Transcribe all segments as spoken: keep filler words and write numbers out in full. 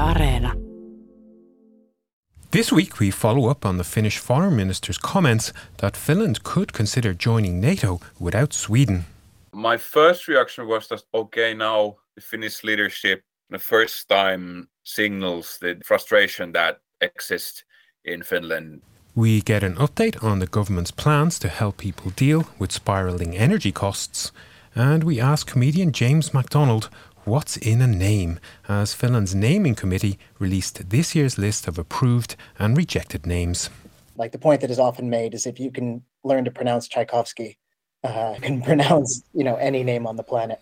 Areena. This week we follow up on the Finnish foreign minister's comments that Finland could consider joining NATO without Sweden. My first reaction was that, okay, now the Finnish leadership the first time signals the frustration that exists in Finland. We get an update on the government's plans to help people deal with spiralling energy costs. And we ask comedian James MacDonald what's in a name, as Finland's naming committee released this year's list of approved and rejected names. Like the point that is often made is if you can learn to pronounce Tchaikovsky, uh, can pronounce, you know, any name on the planet.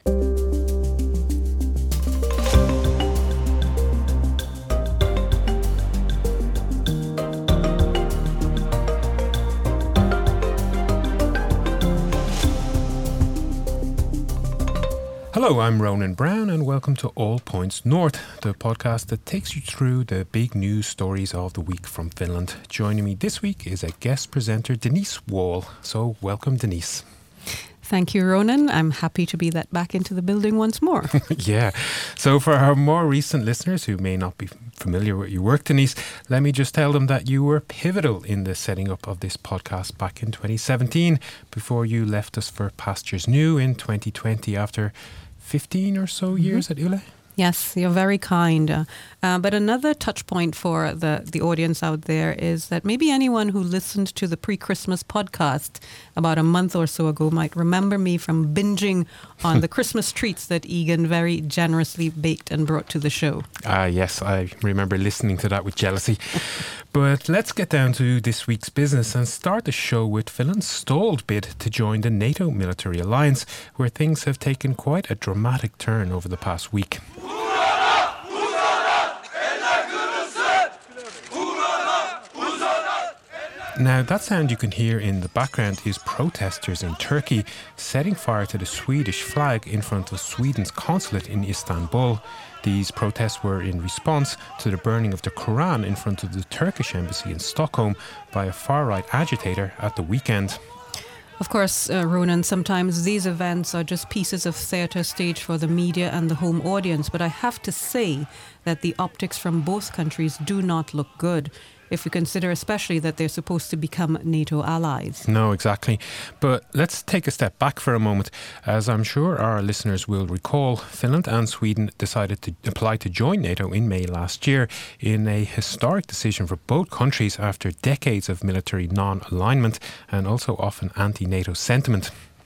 Hello, I'm Ronan Brown and welcome to All Points North, the podcast that takes you through the big news stories of the week from Finland. Joining me this week is a guest presenter, Denise Wall. So welcome, Denise. Thank you, Ronan. I'm happy to be let back into the building once more. Yeah. So for our more recent listeners who may not be familiar with your work, Denise, let me just tell them that you were pivotal in the setting up of this podcast back in twenty seventeen before you left us for Pastures New in twenty twenty after fifteen or so years mm-hmm. at Yle. Yes, you're very kind. Uh, uh, but another touch point for the, the audience out there is that maybe anyone who listened to the pre-Christmas podcast about a month or so ago might remember me from binging on the Christmas treats that Egan very generously baked and brought to the show. Ah, yes, I remember listening to that with jealousy. But let's get down to this week's business and start the show with Finland's stalled bid to join the NATO military alliance, where things have taken quite a dramatic turn over the past week. Now, that sound you can hear in the background is protesters in Turkey setting fire to the Swedish flag in front of Sweden's consulate in Istanbul. These protests were in response to the burning of the Quran in front of the Turkish embassy in Stockholm by a far-right agitator at the weekend. Of course, uh, Ronan, sometimes these events are just pieces of theatre staged for the media and the home audience, but I have to say that the optics from both countries do not look good, if we consider especially that they're supposed to become NATO allies. No, exactly. But let's take a step back for a moment. As I'm sure our listeners will recall, Finland and Sweden decided to apply to join NATO in May last year in a historic decision for both countries after decades of military non-alignment and also often anti-NATO sentiment.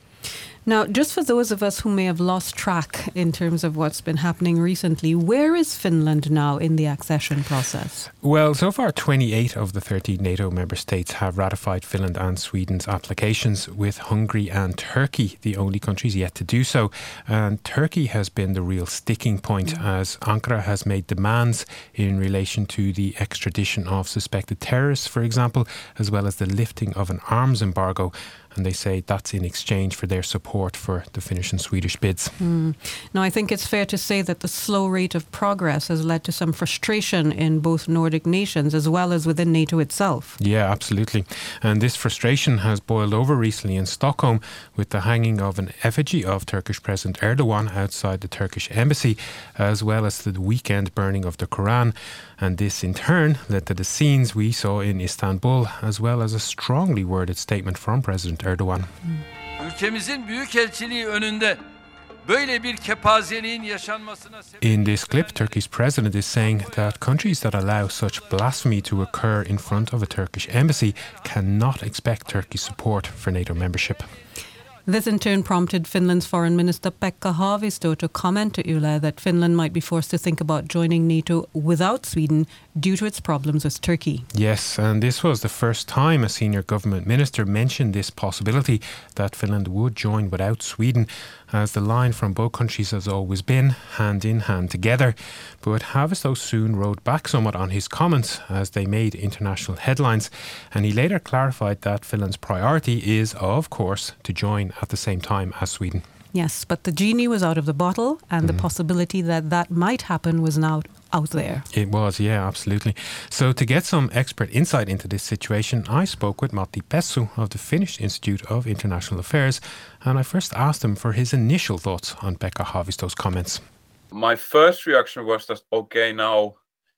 Now, just for those of us who may have lost track in terms of what's been happening recently, where is Finland now in the accession process? Well, so far twenty-eight of the thirty NATO member states have ratified Finland and Sweden's applications, with Hungary and Turkey the only countries yet to do so. And Turkey has been the real sticking point mm. as Ankara has made demands in relation to the extradition of suspected terrorists, for example, as well as the lifting of an arms embargo. And they say that's in exchange for their support for the Finnish and Swedish bids. Mm. Now, I think it's fair to say that the slow rate of progress has led to some frustration in both Nordic nations as well as within NATO itself. Yeah, absolutely. And this frustration has boiled over recently in Stockholm with the hanging of an effigy of Turkish President Erdogan outside the Turkish embassy, as well as the weekend burning of the Quran. And this in turn led to the scenes we saw in Istanbul, as well as a strongly worded statement from President Erdogan. Ülkemizin büyükelçiliği önünde böyle bir kepazeliğin yaşanmasına In this clip, Turkey's president is saying that countries that allow such blasphemy to occur in front of a Turkish embassy cannot expect Turkey's support for NATO membership. This in turn prompted Finland's Foreign Minister Pekka Haavisto to comment to Yle that Finland might be forced to think about joining NATO without Sweden due to its problems with Turkey. Yes, and this was the first time a senior government minister mentioned this possibility that Finland would join without Sweden, as the line from both countries has always been hand in hand together. But Haavisto soon rode back somewhat on his comments as they made international headlines, and he later clarified that Finland's priority is, of course, to join at the same time as Sweden. Yes, but the genie was out of the bottle, and mm. the possibility that that might happen was now out there. It was, yeah, absolutely. So to get some expert insight into this situation, I spoke with Matti Pessu of the Finnish Institute of International Affairs, and I first asked him for his initial thoughts on Pekka Haavisto's comments. My first reaction was that, okay, now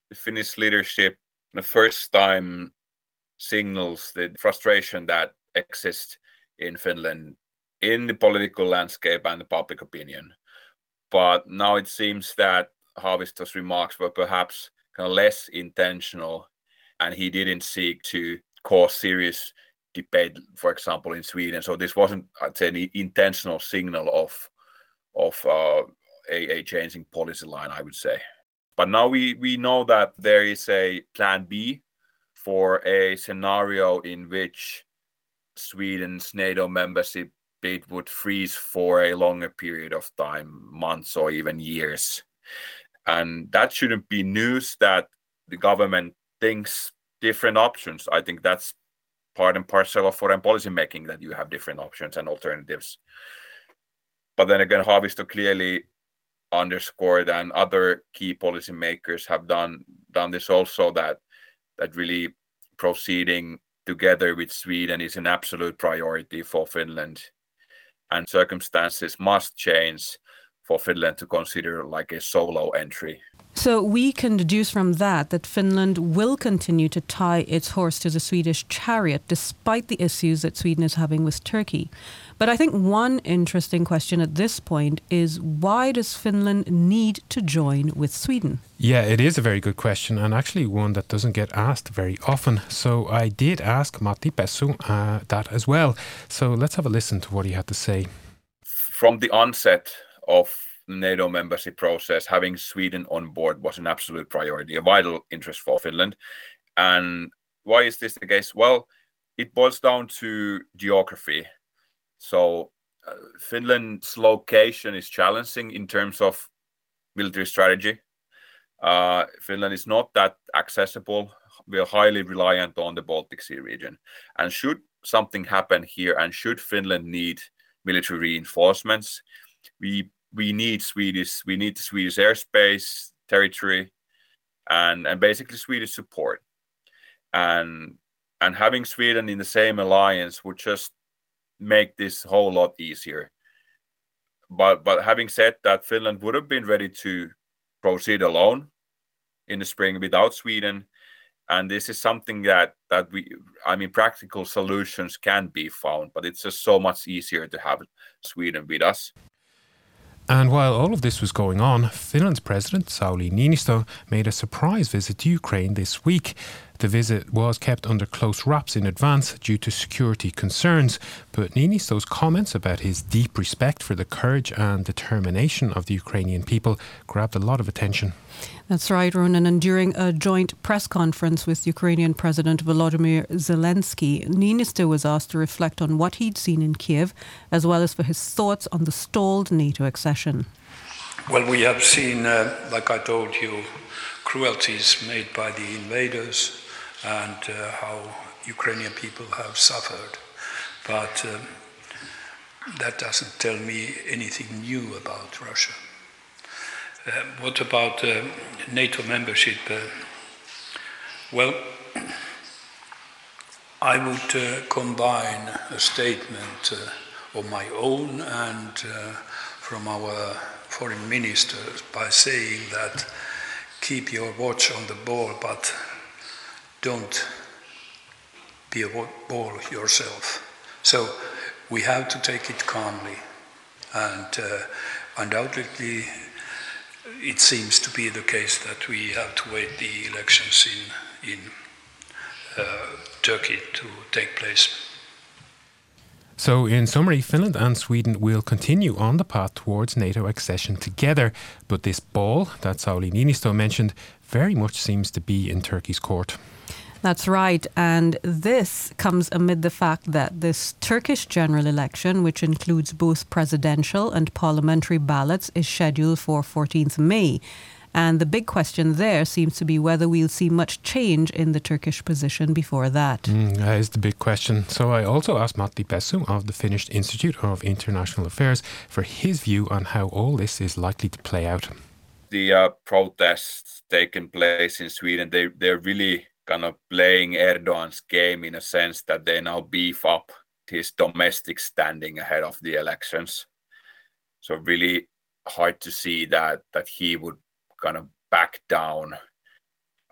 the Finnish leadership the first time signals the frustration that exists in Finland in the political landscape and the public opinion. But now it seems that Haavisto's remarks were perhaps kind of less intentional, and he didn't seek to cause serious debate, for example, in Sweden. So this wasn't, I'd say, an intentional signal of of uh, a, a changing policy line, I would say. But now we, we know that there is a plan B for a scenario in which Sweden's NATO membership bid would freeze for a longer period of time, months or even years. And that shouldn't be news that the government thinks different options. I think that's part and parcel of foreign policy making, that you have different options and alternatives. But then again, Haavisto clearly underscored, and other key policymakers have done done this also, that that really proceeding together with Sweden is an absolute priority for Finland, and circumstances must change for Finland to consider like a solo entry. So we can deduce from that that Finland will continue to tie its horse to the Swedish chariot despite the issues that Sweden is having with Turkey. But I think one interesting question at this point is, why does Finland need to join with Sweden? Yeah, it is a very good question, and actually one that doesn't get asked very often. So I did ask Matti Pessu uh, that as well. So let's have a listen to what he had to say. From the onset of the NATO membership process, having Sweden on board was an absolute priority, a vital interest for Finland. And why is this the case? Well, it boils down to geography. So uh, Finland's location is challenging in terms of military strategy. Uh, Finland is not that accessible. We are highly reliant on the Baltic Sea region. And should something happen here, and should Finland need military reinforcements, we we need Swedish, we need the Swedish airspace, territory, and, and basically Swedish support. And and having Sweden in the same alliance would just make this a whole lot easier. But but having said that, Finland would have been ready to proceed alone in the spring without Sweden. And this is something that that we, I mean, practical solutions can be found, but it's just so much easier to have Sweden with us. And while all of this was going on, Finland's president, Sauli Niinistö, made a surprise visit to Ukraine this week. The visit was kept under close wraps in advance due to security concerns, but Niinistö's comments about his deep respect for the courage and determination of the Ukrainian people grabbed a lot of attention. That's right, Ronan. And during a joint press conference with Ukrainian President Volodymyr Zelensky, Niinistö was asked to reflect on what he'd seen in Kiev, as well as for his thoughts on the stalled NATO accession. Well, we have seen, uh, like I told you, cruelties made by the invaders, and uh, how Ukrainian people have suffered. But uh, that doesn't tell me anything new about Russia. Uh, what about uh, NATO membership? Uh, well, I would uh, combine a statement uh, of my own and uh, from our foreign ministers by saying that keep your watch on the ball, but don't be a ball yourself. So we have to take it calmly, and uh, undoubtedly it seems to be the case that we have to wait the elections in in uh, Turkey to take place. So in summary, Finland and Sweden will continue on the path towards NATO accession together, but this ball that Sauli Niinistö mentioned very much seems to be in Turkey's court. That's right, and this comes amid the fact that this Turkish general election, which includes both presidential and parliamentary ballots, is scheduled for fourteenth of May. And the big question there seems to be whether we'll see much change in the Turkish position before that. Mm, that is the big question. So I also asked Matti Pessu of the Finnish Institute of International Affairs for his view on how all this is likely to play out. The uh, protests taking place in Sweden, they, they're really kind of playing Erdogan's game in a sense that they now beef up his domestic standing ahead of the elections. So really hard to see that that he would kind of back down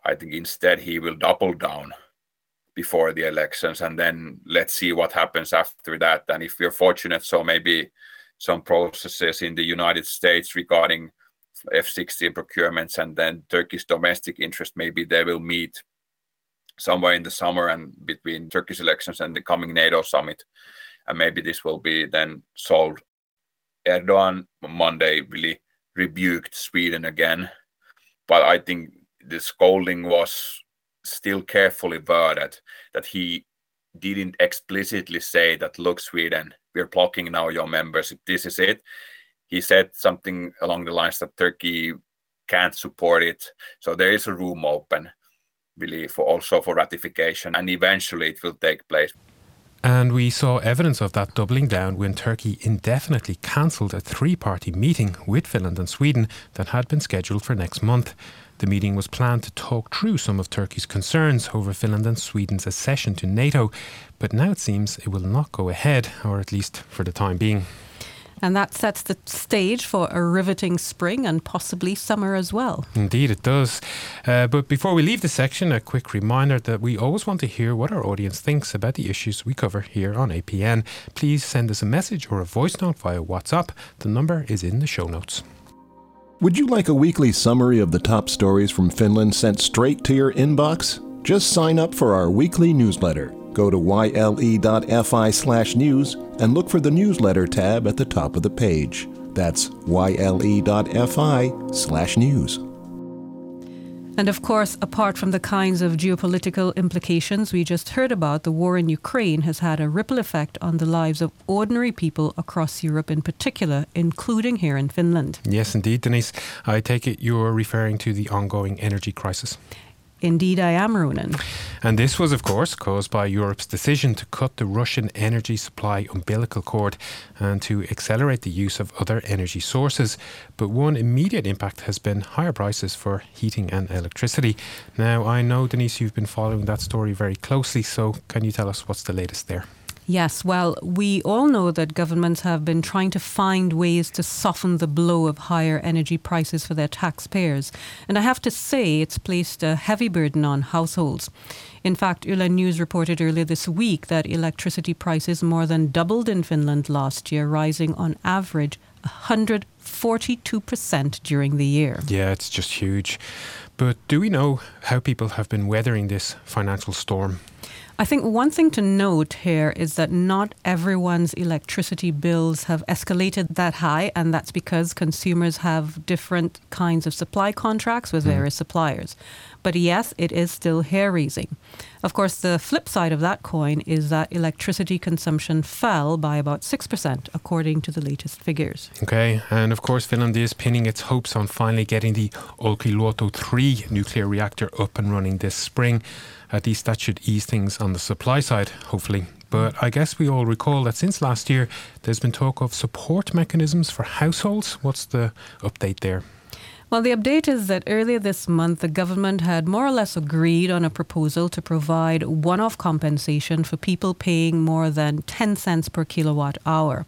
I think instead he will double down before the elections, and then let's see what happens after that. And if we're fortunate, so maybe some processes in the United States regarding F sixteen procurements and then Turkey's domestic interest, maybe they will meet somewhere in the summer and between Turkish elections and the coming NATO summit. And maybe this will be then solved. Erdogan on Monday really rebuked Sweden again, but I think the scolding was still carefully worded, that he didn't explicitly say that, look, Sweden, we're blocking now your membership, this is it. He said something along the lines that Turkey can't support it. So there is a room open, really, for also for ratification, and eventually it will take place. And we saw evidence of that doubling down when Turkey indefinitely cancelled a three-party meeting with Finland and Sweden that had been scheduled for next month. The meeting was planned to talk through some of Turkey's concerns over Finland and Sweden's accession to NATO, but now it seems it will not go ahead, or at least for the time being. And that sets the stage for a riveting spring and possibly summer as well. Indeed, it does. Uh, but before we leave this section, a quick reminder that we always want to hear what our audience thinks about the issues we cover here on A P N. Please send us a message or a voice note via WhatsApp. The number is in the show notes. Would you like a weekly summary of the top stories from Finland sent straight to your inbox? Just sign up for our weekly newsletter. Go to yle.fi slash news and look for the newsletter tab at the top of the page. That's yle.fi slash news. And of course, apart from the kinds of geopolitical implications we just heard about, the war in Ukraine has had a ripple effect on the lives of ordinary people across Europe in particular, including here in Finland. Yes, indeed, Denise. I take it you're referring to the ongoing energy crisis. Indeed, I am, Ronan. And this was, of course, caused by Europe's decision to cut the Russian energy supply umbilical cord and to accelerate the use of other energy sources. But one immediate impact has been higher prices for heating and electricity. Now, I know, Denise, you've been following that story very closely, so can you tell us what's the latest there? Yes, well, we all know that governments have been trying to find ways to soften the blow of higher energy prices for their taxpayers. And I have to say, it's placed a heavy burden on households. In fact, Yle News reported earlier this week that electricity prices more than doubled in Finland last year, rising on average one hundred forty-two percent during the year. Yeah, it's just huge. But do we know how people have been weathering this financial storm? I think one thing to note here is that not everyone's electricity bills have escalated that high, and that's because consumers have different kinds of supply contracts with various mm. suppliers. But yes, it is still hair-raising. Of course, the flip side of that coin is that electricity consumption fell by about six percent, according to the latest figures. Okay, and of course, Finland is pinning its hopes on finally getting the Olkiluoto three nuclear reactor up and running this spring. At least that should ease things on the supply side, hopefully. But I guess we all recall that since last year, there's been talk of support mechanisms for households. What's the update there? Well, the update is that earlier this month, the government had more or less agreed on a proposal to provide one-off compensation for people paying more than ten cents per kilowatt hour.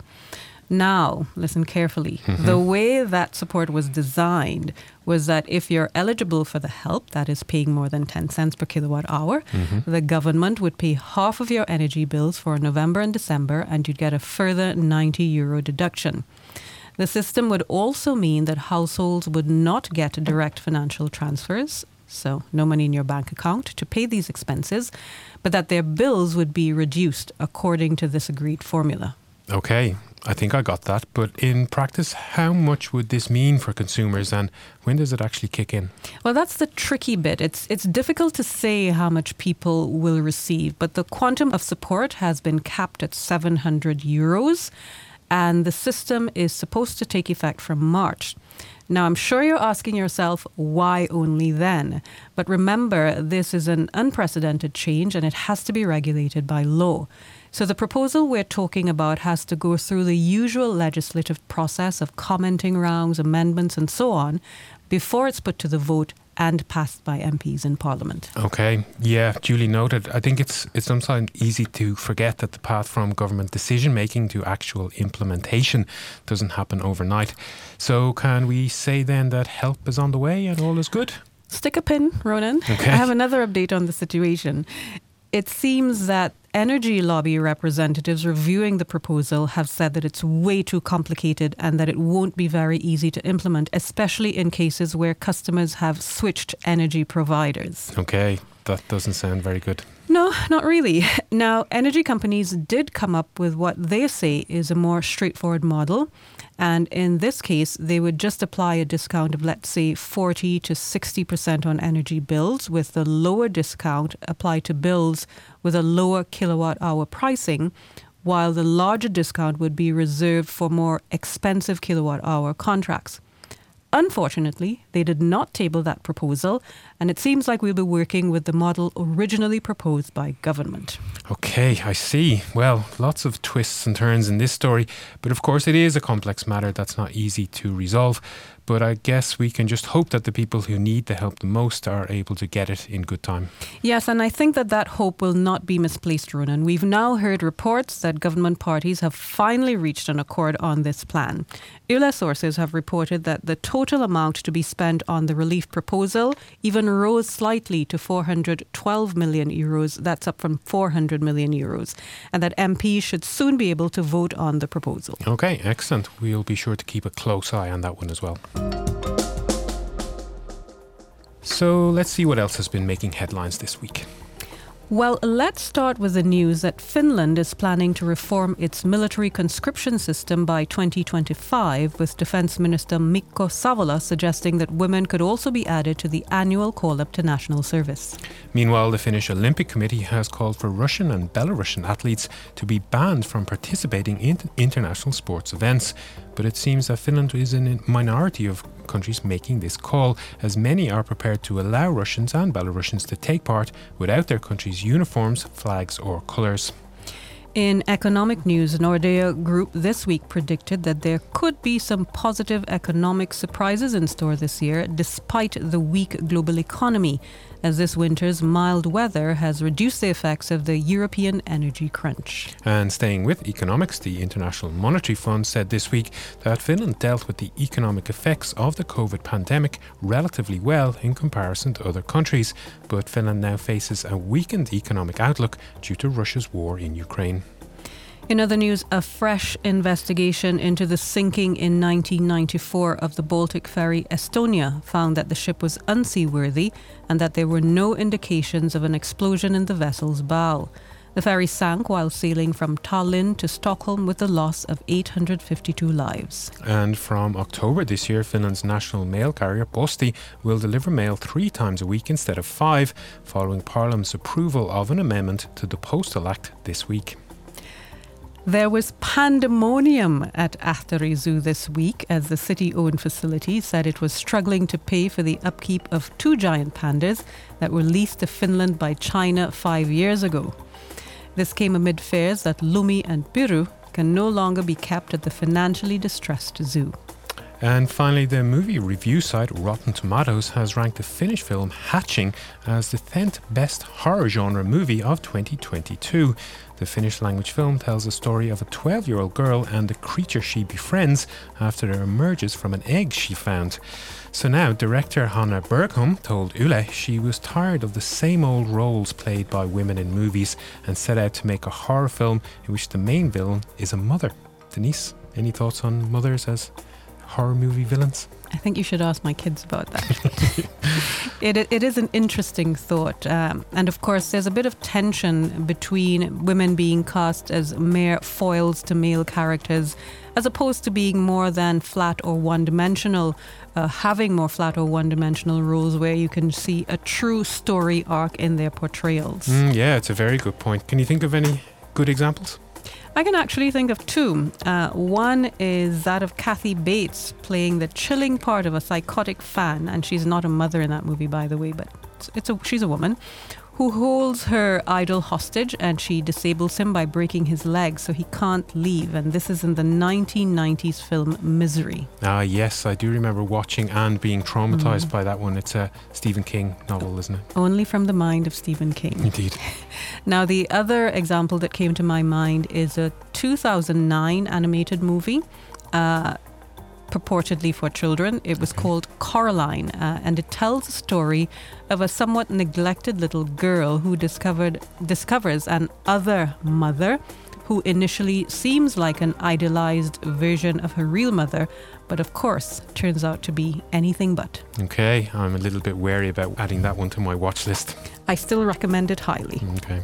Now, listen carefully. Mm-hmm. The way that support was designed was that if you're eligible for the help, that is paying more than ten cents per kilowatt hour, mm-hmm. the government would pay half of your energy bills for November and December, and you'd get a further ninety euro deduction. The system would also mean that households would not get direct financial transfers, so no money in your bank account to pay these expenses, but that their bills would be reduced according to this agreed formula. Okay, I think I got that. But in practice, how much would this mean for consumers, and when does it actually kick in? Well, that's the tricky bit. It's it's difficult to say how much people will receive, but the quantum of support has been capped at seven hundred euros, and the system is supposed to take effect from March. Now, I'm sure you're asking yourself, why only then? But remember, this is an unprecedented change, and it has to be regulated by law. So the proposal we're talking about has to go through the usual legislative process of commenting rounds, amendments, and so on, before it's put to the vote and passed by M Ps in Parliament. Okay, yeah, duly noted. I think it's it's sometimes easy to forget that the path from government decision-making to actual implementation doesn't happen overnight. So can we say then that help is on the way and all is good? stick a pin, Ronan. Okay. I have another update on the situation. It seems that energy lobby representatives reviewing the proposal have said that it's way too complicated and that it won't be very easy to implement, especially in cases where customers have switched energy providers. Okay, that doesn't sound very good. No, not really. Now, energy companies did come up with what they say is a more straightforward model. And in this case, they would just apply a discount of, let's say, forty to sixty percent on energy bills, with the lower discount applied to bills with a lower kilowatt hour pricing, while the larger discount would be reserved for more expensive kilowatt hour contracts. Unfortunately, they did not table that proposal, and it seems like we'll be working with the model originally proposed by government. Okay, I see. Well, lots of twists and turns in this story, but of course it is a complex matter that's not easy to resolve. But I guess we can just hope that the people who need the help the most are able to get it in good time. Yes, and I think that that hope will not be misplaced, Ronan. We've now heard reports that government parties have finally reached an accord on this plan. Yle sources have reported that the total amount to be spent on the relief proposal even rose slightly to four hundred twelve million euros. That's up from four hundred million euros. And that M Ps should soon be able to vote on the proposal. Okay, excellent. We'll be sure to keep a close eye on that one as well. So let's see what else has been making headlines this week. Well, let's start with the news that Finland is planning to reform its military conscription system by twenty twenty-five, with Defence Minister Mikko Savola suggesting that women could also be added to the annual call-up to national service. Meanwhile, the Finnish Olympic Committee has called for Russian and Belarusian athletes to be banned from participating in international sports events. But it seems that Finland is in a minority of countries making this call, as many are prepared to allow Russians and Belarusians to take part without their country's uniforms, flags or colours. In economic news, Nordea Group this week predicted that there could be some positive economic surprises in store this year, despite the weak global economy, as this winter's mild weather has reduced the effects of the European energy crunch. And staying with economics, the International Monetary Fund said this week that Finland dealt with the economic effects of the COVID pandemic relatively well in comparison to other countries, but Finland now faces a weakened economic outlook due to Russia's war in Ukraine. In other news, a fresh investigation into the sinking in nineteen ninety-four of the Baltic ferry Estonia found that the ship was unseaworthy and that there were no indications of an explosion in the vessel's bow. The ferry sank while sailing from Tallinn to Stockholm with the loss of eight hundred fifty-two lives. And from October this year, Finland's national mail carrier Posti will deliver mail three times a week instead of five, following Parliament's approval of an amendment to the Postal Act this week. There was pandemonium at Ahteri Zoo this week as the city-owned facility said it was struggling to pay for the upkeep of two giant pandas that were leased to Finland by China five years ago. This came amid fears that Lumi and Piru can no longer be kept at the financially distressed zoo. And finally, the movie review site Rotten Tomatoes has ranked the Finnish film Hatching as the tenth best horror genre movie of twenty twenty-two. The Finnish language film tells the story of a twelve-year-old girl and the creature she befriends after it emerges from an egg she found. So now, director Hanna Bergholm told Yle she was tired of the same old roles played by women in movies and set out to make a horror film in which the main villain is a mother. Denise, any thoughts on mothers as horror movie villains? I think you should ask my kids about that. it, it is an interesting thought. Um, and of course, there's a bit of tension between women being cast as mere foils to male characters, as opposed to being more than flat or one-dimensional, uh, having more flat or one-dimensional roles where you can see a true story arc in their portrayals. Mm, yeah, it's a very good point. Can you think of any good examples? I can actually think of two. Uh, one is that of Kathy Bates playing the chilling part of a psychotic fan, and she's not a mother in that movie, by the way, but it's, it's a, she's a woman who holds her idol hostage, and she disables him by breaking his leg so he can't leave. And this is in the nineteen nineties film Misery. Ah, yes, I do remember watching and being traumatized mm. by that one. It's a Stephen King novel, isn't it? Only from the mind of Stephen King. Indeed. Now, the other example that came to my mind is a two thousand nine animated movie. Uh, purportedly for children. It was called Coraline, uh, and it tells a story of a somewhat neglected little girl who discovered discovers an other mother who initially seems like an idealized version of her real mother, but of course turns out to be anything but. Okay, I'm a little bit wary about adding that one to my watch list. I still recommend it highly. Okay.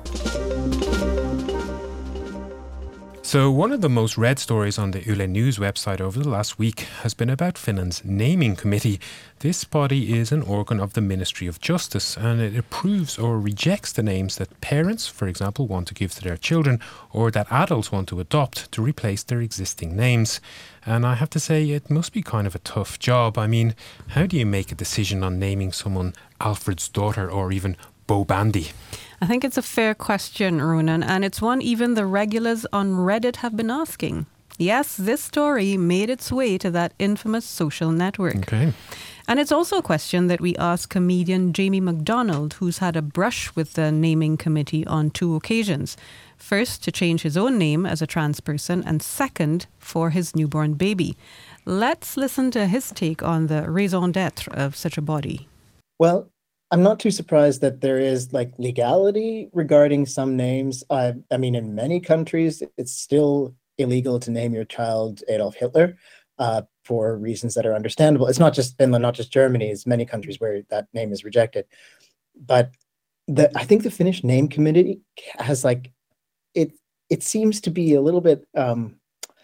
So one of the most read stories on the Yle News website over the last week has been about Finland's naming committee. This body is an organ of the Ministry of Justice, and it approves or rejects the names that parents, for example, want to give to their children, or that adults want to adopt to replace their existing names. And I have to say, it must be kind of a tough job. I mean, how do you make a decision on naming someone Alfred's daughter or even Bo Bandy? I think it's a fair question, Ronan, and it's one even the regulars on Reddit have been asking. Yes, this story made its way to that infamous social network. Okay. And it's also a question that we asked comedian Jamie McDonald, who's had a brush with the naming committee on two occasions. First, to change his own name as a trans person, and second, for his newborn baby. Let's listen to his take on the raison d'etre of such a body. Well, I'm not too surprised that there is like legality regarding some names. I, I mean, in many countries, it's still illegal to name your child Adolf Hitler uh, for reasons that are understandable. It's not just Finland, not just Germany. It's many countries where that name is rejected. But the, I think the Finnish name committee has like, it, it seems to be a little bit um,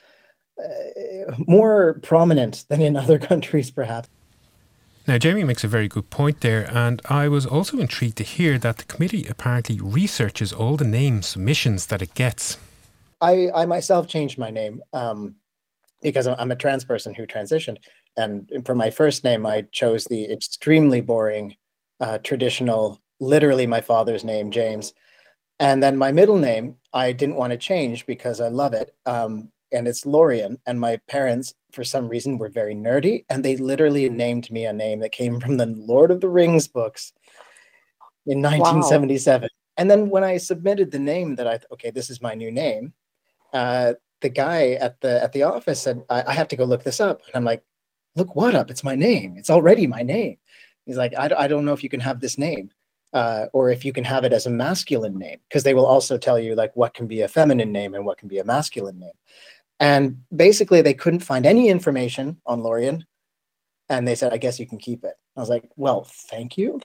uh, more prominent than in other countries, perhaps. Now, Jamie makes a very good point there, and I was also intrigued to hear that the committee apparently researches all the name submissions that it gets. I, I myself changed my name um, because I'm a trans person who transitioned. And for my first name, I chose the extremely boring, uh, traditional, literally my father's name, James. And then my middle name, I didn't want to change because I love it. Um, and it's Lorien. And my parents, for some reason, were very nerdy. And they literally named me a name that came from the Lord of the Rings books in nineteen seventy-seven. Wow. And then when I submitted the name that I, okay, this is my new name, uh, the guy at the at the office said, I, I have to go look this up. And I'm like, look what up? It's my name. It's already my name. He's like, I, I don't know if you can have this name. Uh, or if you can have it as a masculine name, because they will also tell you like what can be a feminine name and what can be a masculine name. And basically they couldn't find any information on Lorien. And they said, I guess you can keep it. I was like, well, thank you.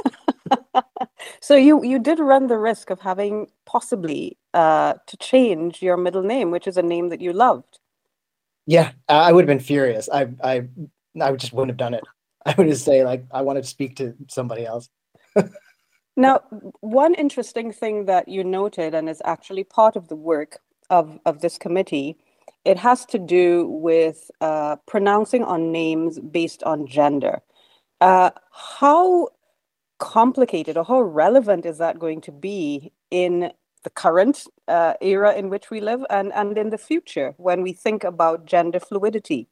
So you, you did run the risk of having possibly uh, to change your middle name, which is a name that you loved. Yeah, I would have been furious. I, I, I just wouldn't have done it. I would just say like, I wanted to speak to somebody else. Now, one interesting thing that you noted, and is actually part of the work of, of this committee, it has to do with uh, pronouncing on names based on gender. Uh, how complicated or how relevant is that going to be in the current uh, era in which we live and, and in the future when we think about gender fluidity?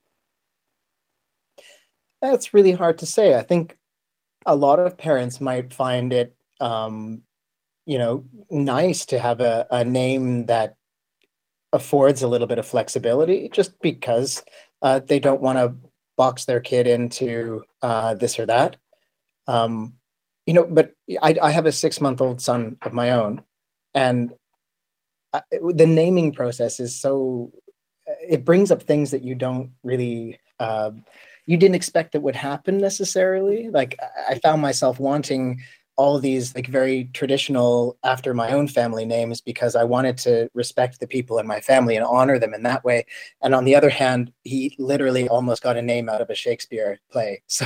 That's really hard to say. I think a lot of parents might find it Um, you know, nice to have a, a name that affords a little bit of flexibility just because uh, they don't want to box their kid into uh, this or that. Um, you know, but I, I have a six-month-old son of my own, and I, the naming process is so, it brings up things that you don't really, uh, you didn't expect that would happen necessarily. Like I found myself wanting all of these like very traditional after my own family names because I wanted to respect the people in my family and honor them in that way. And on the other hand, he literally almost got a name out of a Shakespeare play. So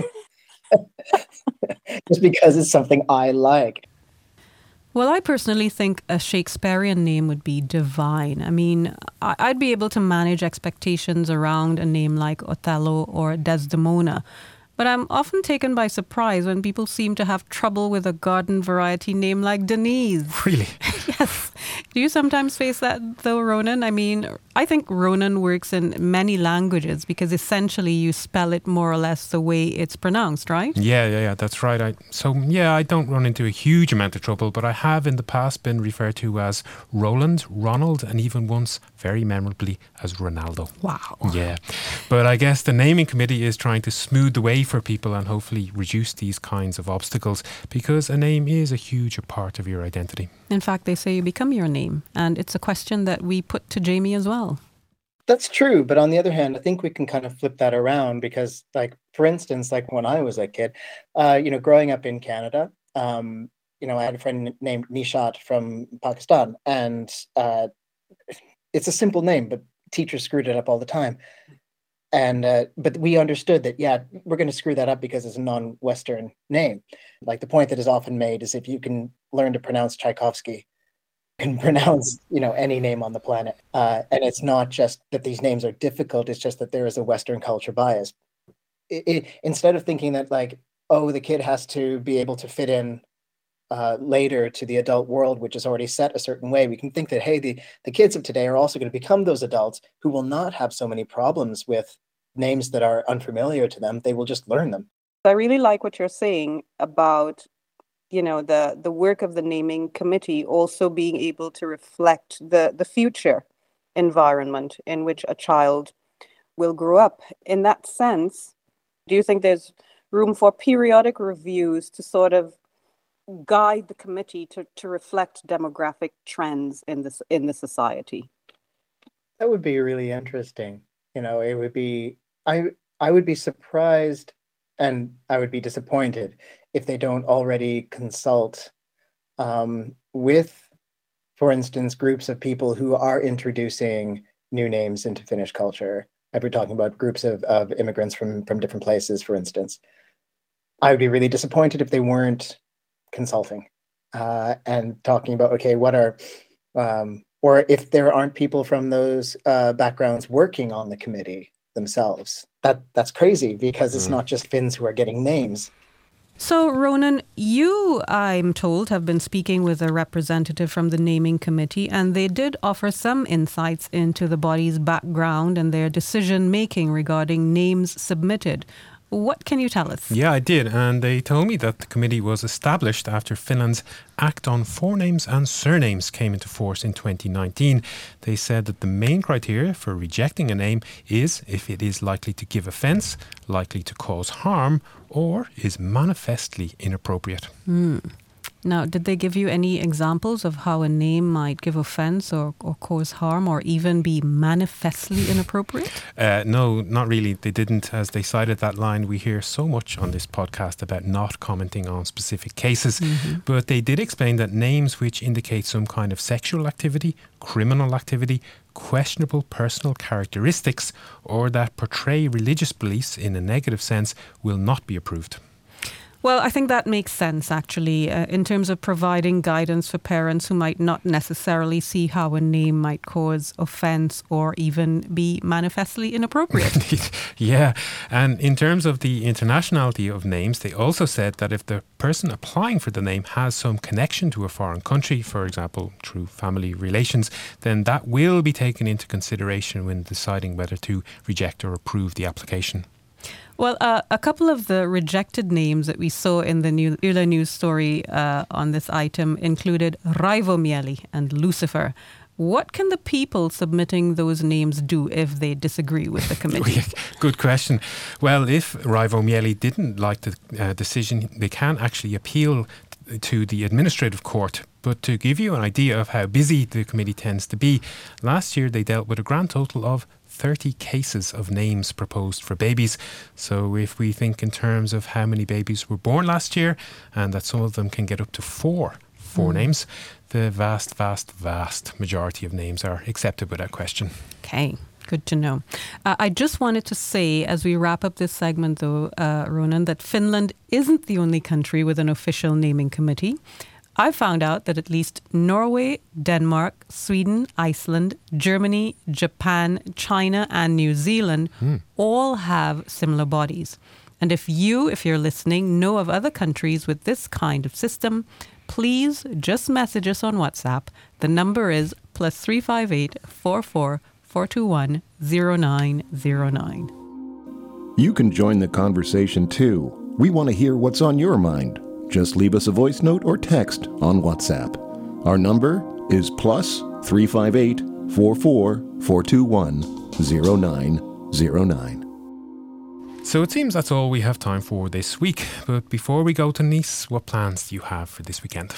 just because it's something I like. Well, I personally think a Shakespearean name would be divine. I mean, I'd be able to manage expectations around a name like Othello or Desdemona. But I'm often taken by surprise when people seem to have trouble with a garden variety name like Denise. Really? Yes. Do you sometimes face that though, Ronan? I mean, I think Ronan works in many languages because essentially you spell it more or less the way it's pronounced, right? Yeah, yeah, yeah, that's right. I, so, yeah, I don't run into a huge amount of trouble, but I have in the past been referred to as Roland, Ronald, and even once, very memorably, as Ronaldo. Wow. Yeah. But I guess the naming committee is trying to smooth the way for people and hopefully reduce these kinds of obstacles because a name is a huge part of your identity. In fact, they say you become your name. And it's a question that we put to Jamie as well. That's true. But on the other hand, I think we can kind of flip that around because, like, for instance, like when I was a kid, uh, you know, growing up in Canada, um, you know, I had a friend named Nishat from Pakistan. And uh, it's a simple name, but teachers screwed it up all the time. And uh, but we understood that, yeah, we're going to screw that up because it's a non-Western name. Like the point that is often made is if you can learn to pronounce Tchaikovsky, you can pronounce, you know, any name on the planet. Uh, and it's not just that these names are difficult. It's just that there is a Western culture bias. It, it, instead of thinking that like, oh, the kid has to be able to fit in uh, later to the adult world, which is already set a certain way, we can think that, hey, the, the kids of today are also going to become those adults who will not have so many problems with names that are unfamiliar to them. They will just learn them. I really like what you're saying about, you know, the, the work of the naming committee also being able to reflect the, the future environment in which a child will grow up. In that sense, do you think there's room for periodic reviews to sort of guide the committee to, to reflect demographic trends in this in the society? That would be really interesting. You know, it would be, I I would be surprised and I would be disappointed if they don't already consult um, with, for instance, groups of people who are introducing new names into Finnish culture. I've been talking about groups of, of immigrants from, from different places, for instance. I would be really disappointed if they weren't consulting uh, and talking about, okay, what are, um, or if there aren't people from those uh, backgrounds working on the committee themselves. That that's crazy because it's mm. not just Finns who are getting names. So, Ronan, you, I'm told, have been speaking with a representative from the naming committee, and they did offer some insights into the body's background and their decision-making regarding names submitted. What can you tell us? Yeah, I did. And they told me that the committee was established after Finland's Act on Forenames and Surnames came into force in twenty nineteen. They said that the main criteria for rejecting a name is if it is likely to give offence, likely to cause harm, or is manifestly inappropriate. Mm. Now, did they give you any examples of how a name might give offence or, or cause harm or even be manifestly inappropriate? Uh, no, not really. They didn't. As they cited that line, we hear so much on this podcast about not commenting on specific cases. Mm-hmm. But they did explain that names which indicate some kind of sexual activity, criminal activity, questionable personal characteristics, or that portray religious beliefs in a negative sense will not be approved. Well, I think that makes sense, actually, uh, in terms of providing guidance for parents who might not necessarily see how a name might cause offence or even be manifestly inappropriate. Yeah, and in terms of the internationality of names, they also said that if the person applying for the name has some connection to a foreign country, for example, through family relations, then that will be taken into consideration when deciding whether to reject or approve the application. Well, uh, a couple of the rejected names that we saw in the new Yle News story uh, on this item included Raivomieli and Lucifer. What can the people submitting those names do if they disagree with the committee? Good question. Well, if Raivomieli didn't like the uh, decision, they can actually appeal to the administrative court. But to give you an idea of how busy the committee tends to be, last year they dealt with a grand total of thirty cases of names proposed for babies. So if we think in terms of how many babies were born last year and that some of them can get up to four forenames, mm. the vast, vast, vast majority of names are accepted without question. Okay. Good to know. Uh, I just wanted to say, as we wrap up this segment, though, uh, Ronan, that Finland isn't the only country with an official naming committee. I found out that at least Norway, Denmark, Sweden, Iceland, Germany, Japan, China, and New Zealand mm. all have similar bodies. And if you, if you're listening, know of other countries with this kind of system, please just message us on WhatsApp. The number is plus three five eight, four four, four two one, zero nine zero nine. You can join the conversation too. We want to hear what's on your mind. Just leave us a voice note or text on WhatsApp. Our number is plus three five eight, four four, four two one, zero nine zero nine. So it seems that's all we have time for this week. But before we go to Nice, what plans do you have for this weekend?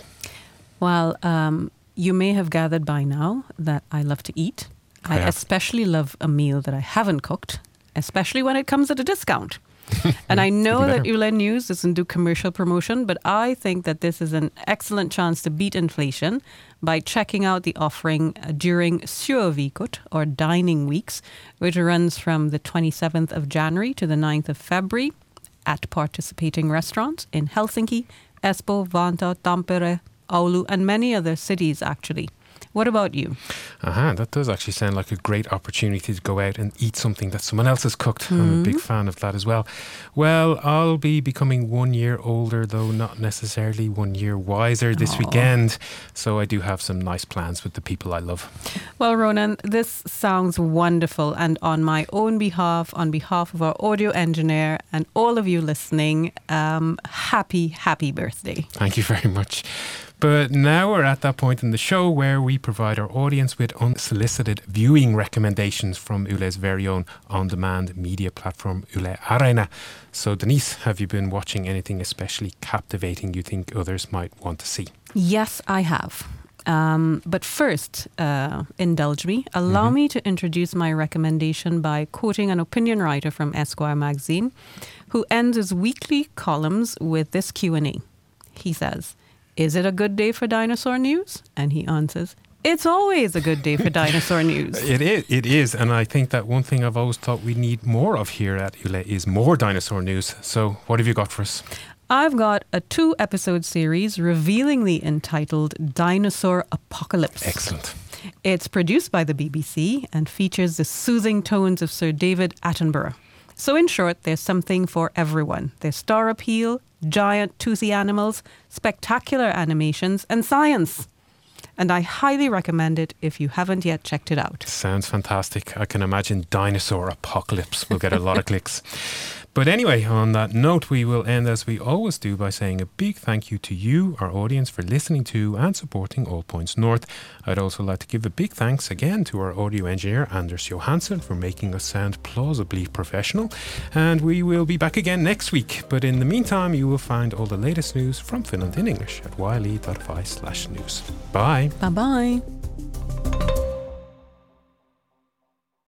Well, um, you may have gathered by now that I love to eat. I, I especially love a meal that I haven't cooked, especially when it comes at a discount. And I know that Yle News doesn't do commercial promotion, but I think that this is an excellent chance to beat inflation by checking out the offering during Syöviikot, or Dining Weeks, which runs from the twenty-seventh of January to the ninth of February at participating restaurants in Helsinki, Espoo, Vantaa, Tampere, Oulu, and many other cities, actually. What about you? Uh-huh, that does actually sound like a great opportunity to go out and eat something that someone else has cooked. Mm-hmm. I'm a big fan of that as well. Well, I'll be becoming one year older, though not necessarily one year wiser this Aww. weekend. So I do have some nice plans with the people I love. Well, Ronan, this sounds wonderful. And on my own behalf, on behalf of our audio engineer and all of you listening, um, happy, happy birthday. Thank you very much. But now we're at that point in the show where we provide our audience with unsolicited viewing recommendations from Yle's very own on-demand media platform, Yle Areena. So Denise, have you been watching anything especially captivating you think others might want to see? Yes, I have. Um, but first, uh, indulge me. Allow mm-hmm. me to introduce my recommendation by quoting an opinion writer from Esquire magazine who ends his weekly columns with this Q and A. He says, "Is it a good day for dinosaur news?" And he answers, "It's always a good day for dinosaur news." It is, it is. And I think that one thing I've always thought we need more of here at Yle is more dinosaur news. So what have you got for us? I've got a two-episode series revealingly entitled Dinosaur Apocalypse. Excellent. It's produced by the B B C and features the soothing tones of Sir David Attenborough. So in short, there's something for everyone. There's star appeal, giant toothy animals, spectacular animations, and science. And I highly recommend it if you haven't yet checked it out. Sounds fantastic. I can imagine Dinosaur Apocalypse will get a lot of clicks. But anyway, on that note, we will end as we always do by saying a big thank you to you, our audience, for listening to and supporting All Points North. I'd also like to give a big thanks again to our audio engineer, Anders Johansson, for making us sound plausibly professional. And we will be back again next week. But in the meantime, you will find all the latest news from Finland in English at yle dot fi slash news. Bye. Bye-bye.